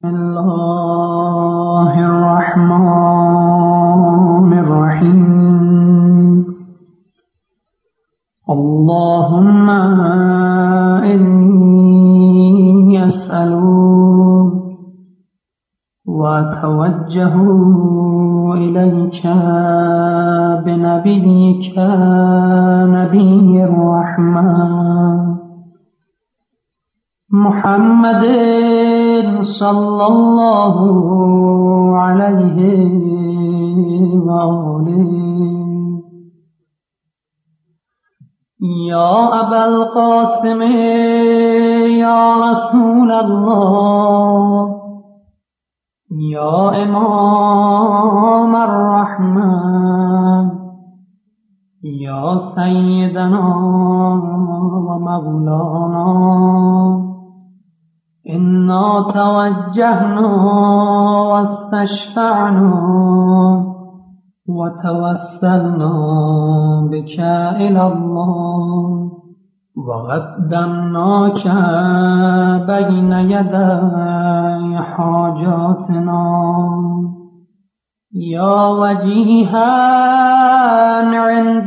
بسم الله الرحمن الرحيم. اللهم إني أسألك وأتوجه إليك بنبيك نبي الرحمة محمد صلى الله عليه وآله. يا أبا القاسم يا رسول الله يا إمام الرحمة يا سيدنا ومولانا، إنا توجهنا واستشفعنا وتوسلنا بك إلى الله وقدمناك بين يدي حاجاتنا يا وجيها عند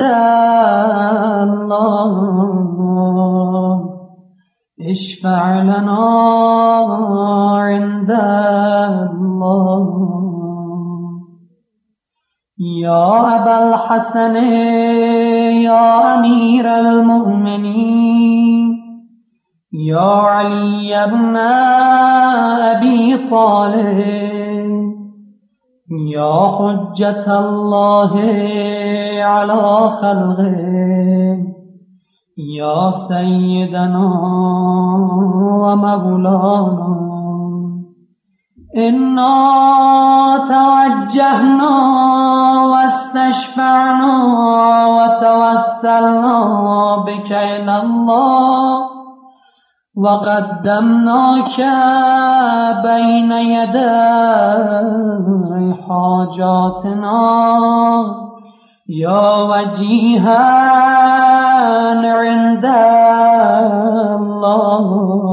الله، اشفع لنا عند الله. يا أبا الحسن يا أمير المؤمنين يا علي بن أبي طالب يا حجة الله على خلقه يا سيدنا ومولانا، إنا توجهنا واستشفعنا وتوسلنا بك إلى الله وقدمناك بين يدي حاجاتنا يا وجيها عند الله،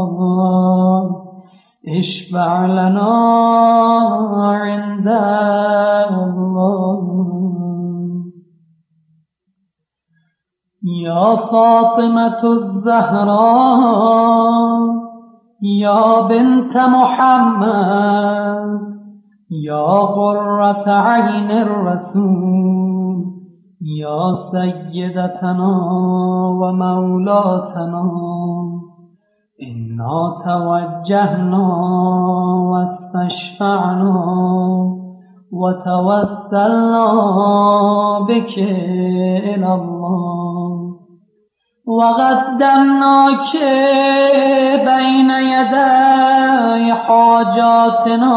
اشفع لنا عند الله. يا فاطمة الزهراء يا بنت محمد يا قرة عين الرسول يا سيدتنا ومولاتنا، إنا توجهنا واستشفعنا وتوسلنا بك إلى الله وقدمناك بين يدي حاجاتنا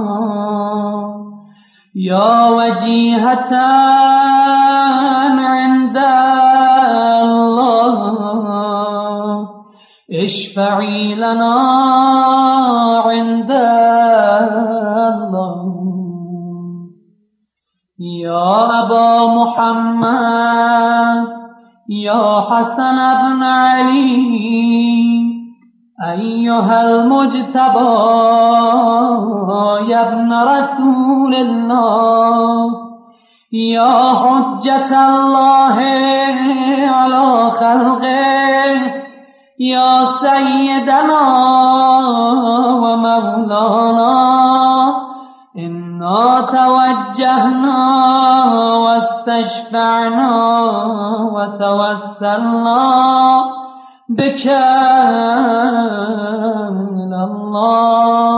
يا وجيهة عند الله، اشفعي لنا عند الله. يا أبا محمد يا حسن بن علي أيها المجتبى يا ابن رسول الله يا حجة الله على خلقه يا سيدنا ومولانا، إنا توجهنا واستشفعنا وتوسلنا بك إلى الله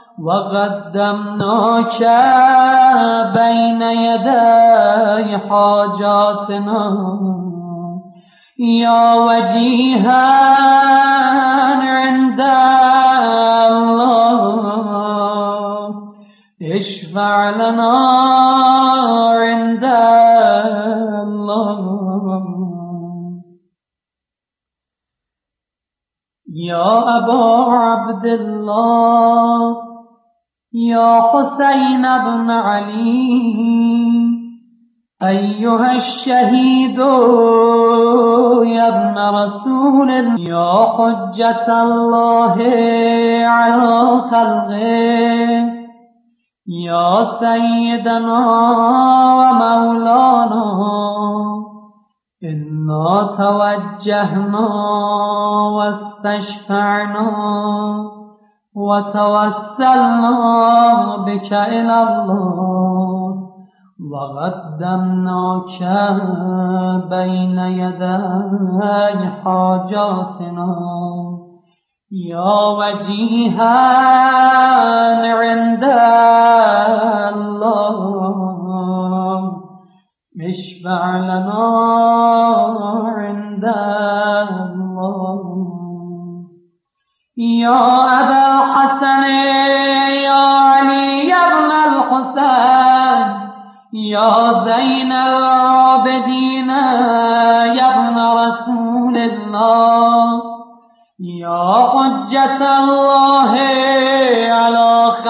وقدمناك بين يدي حاجاتنا يا وجيها عند الله، اشفع لنا عند الله. يا أبا عبد الله يا حسين بن علي أيها الشهيد يا ابن رسول الله يا حجة الله على خلقه يا سيدنا ومولانا إنا توجهنا واستشفعنا وتوسلنا بك إلى الله وقدمناك بين يدي حاجاتنا يا وجيها عند الله اشفع لنا عند الله يا أبا الحسن يا علي بن الحسين يا زين العابدين يا ابن رسول الله يا حجة الله على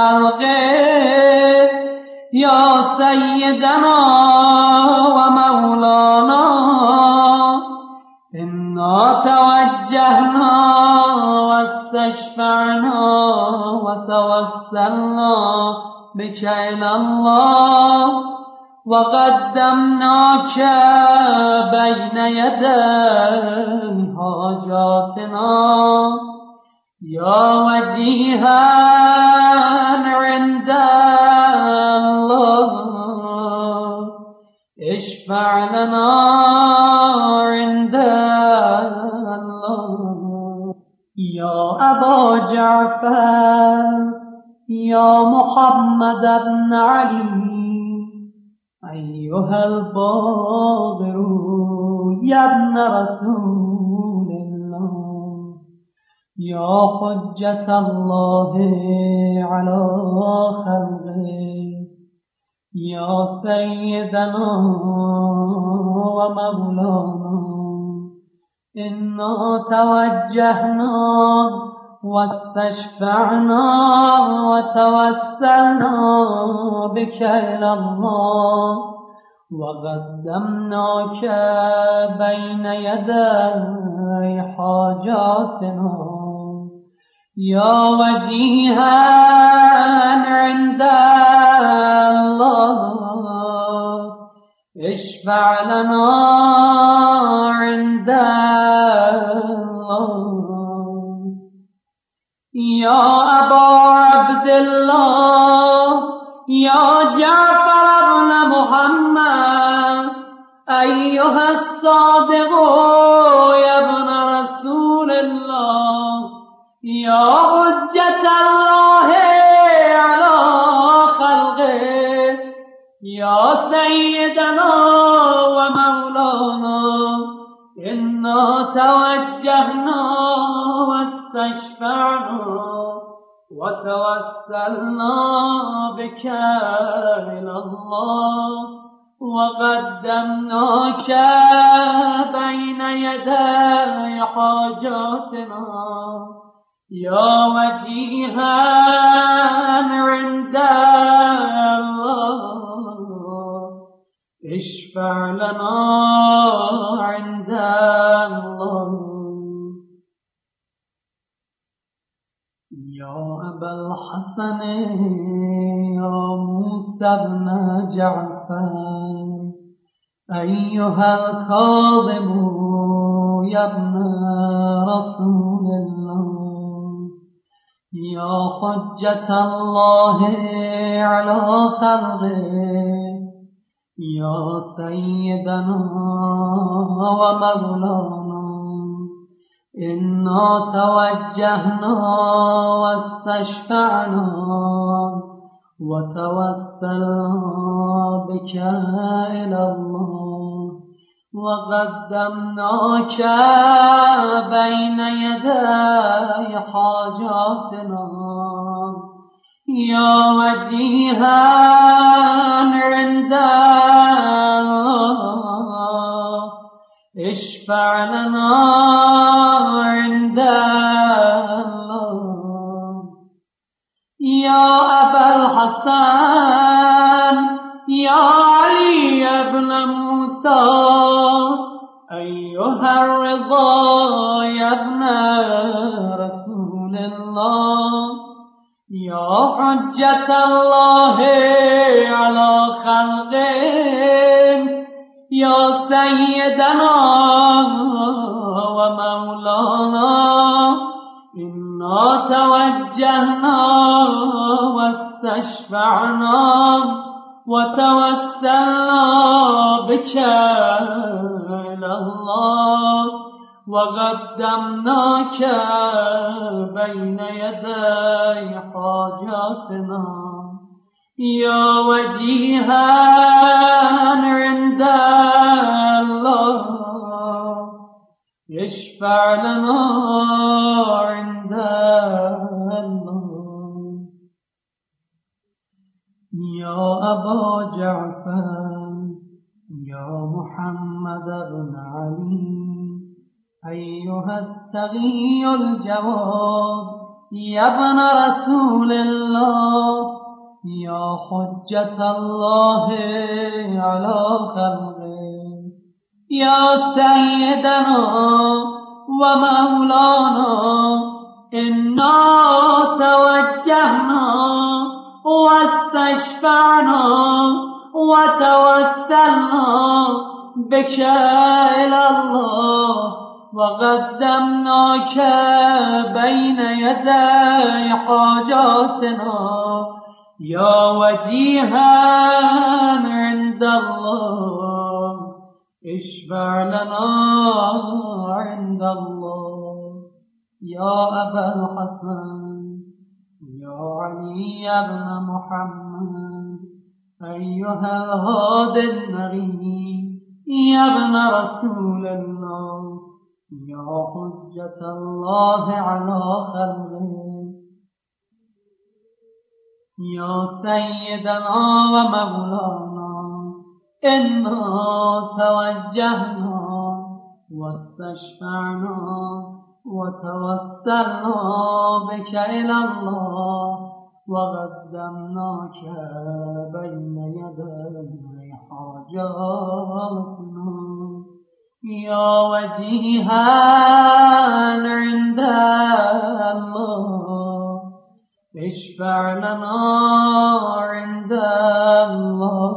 خلقه يا سيدنا ومولانا إنا توجهنا واستشفعنا وتوسلنا بك إلى الله وقدمناك بين يدي حاجاتنا يا وجيها عند الله اشفع لنا عند الله يا أبا جعفر يا محمد بن علي أيها الباغر يا ابن رسول الله يا حجة الله على خلقه يا سيدنا ومولانا إنا توجهنا واستشفعنا وتوسلنا بك إلى الله وقدمناك بين يدي حاجاتنا يا وجيها عند الله اشفع لنا عند الله يا أبا عبد الله يا جعفر بن محمد أيها الصادق يا ابن رسول الله يا حجة الله على خلقه يا سيدنا ومولانا إنا توجهنا واستشفعنا وتوسلنا بك إلى الله وقدمناك بين يدي حاجاتنا يا وجيها عند الله اشفع لنا عند الله يا أبا الحسن يا موسى بن جعفر أيها الكاظم يا ابن رسول الله يا حجة الله على خلقه يا سيدنا ومولانا إنا توجهنا واستشفعنا وتوسلنا بك إلى الله وقدمناك بين يدي حاجاتنا يا وجيها عند الله اشفع لنا عند الله يا أبا الحسن يا علي بن موسى أيها الرضا يا ابن رسول الله يا حجة الله على خلقه يا سيدنا ومولانا إنا توجهنا واستشفعنا وتوسلنا بك إلى الله وقدمناك بين يدي حاجاتنا يا وجيها عند الله اشفع لنا عند الله يا أبا جعفر يا محمد بن علي أيها التقي الجواد يا ابن رسول الله يا حجة الله على خلقه يا سيدنا ومولانا إنا توجهنا واستشفعنا وتوسلنا بك إلى الله وقدمناك بين يدي حاجاتنا يا وجيها عند الله اشفع لنا عند الله يا أبا الحسن يا علي بن محمد أيها الهادي النبي يا ابن رسول الله يا حجة الله على خلقه يا سيدنا ومولانا إنا توجهنا واستشفعنا وتوسلنا بك إلى الله وقدمناك بين يدي حاجاتنا يا وجيها عند الله اشفع لنا عند الله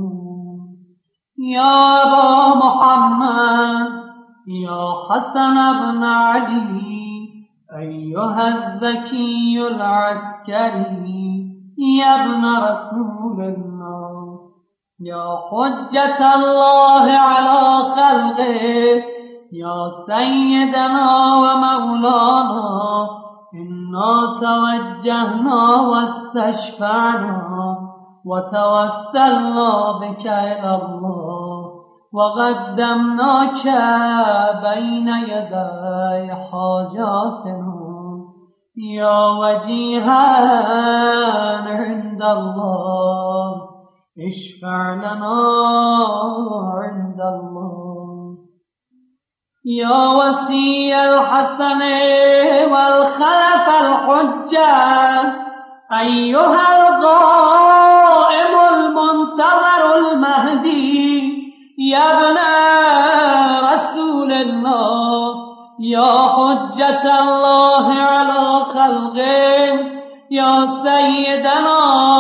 يا أبا محمد يا حسن بن علي أيها الذكي العسكري يا ابن رسول الله يا حجة الله على خلقه يا سيدنا ومولانا إنا توجهنا واستشفعنا وتوسلنا بك إلى الله وقدمناك بين يدي حاجاتنا يا وجيها عند الله اشفع لنا عند الله يا وصي الحسن والخلف الحجة أيها القائم المنتظر المهدي يا ابن رسول الله يا حجة الله على خلقه يا سيدنا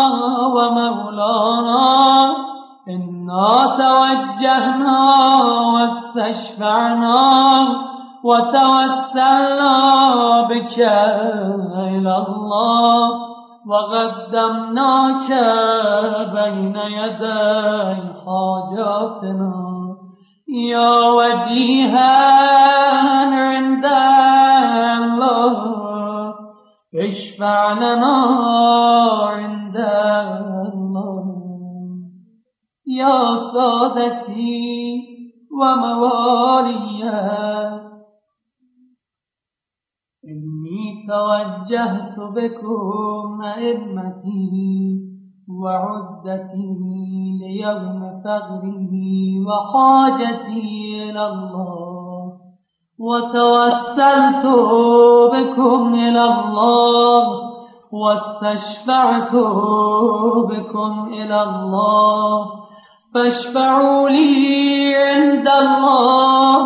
ومولانا إنا توجهنا واستشفعنا وتوسلنا بك إلى الله وقدمناك بين يدي حاجاتنا يا وجيها عند الله اشفع لنا عند الله يا سادتي وموالي إني توجهت بكم أئمتي وعدتي ليوم فغري وحاجتي إلى الله وتوسلت بكم إلى الله واستشفعت بكم إلى الله فاشفعوا لي عند الله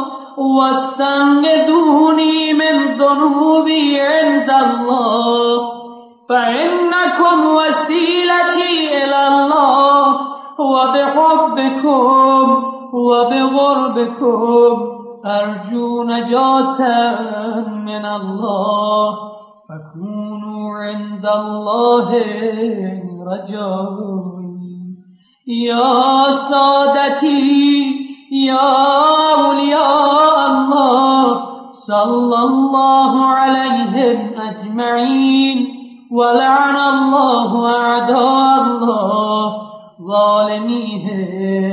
واستنقذوني من ذنوبي عند الله فإن وبدعاكم وسيلتي إلى الله وبحبكم وبغربكم أرجو نجاة من الله فكونوا عند الله رجائي. يا سادتي يا أولياء الله صلى الله عليهم أجمعين ولعن الله أعداء الله ظالميهم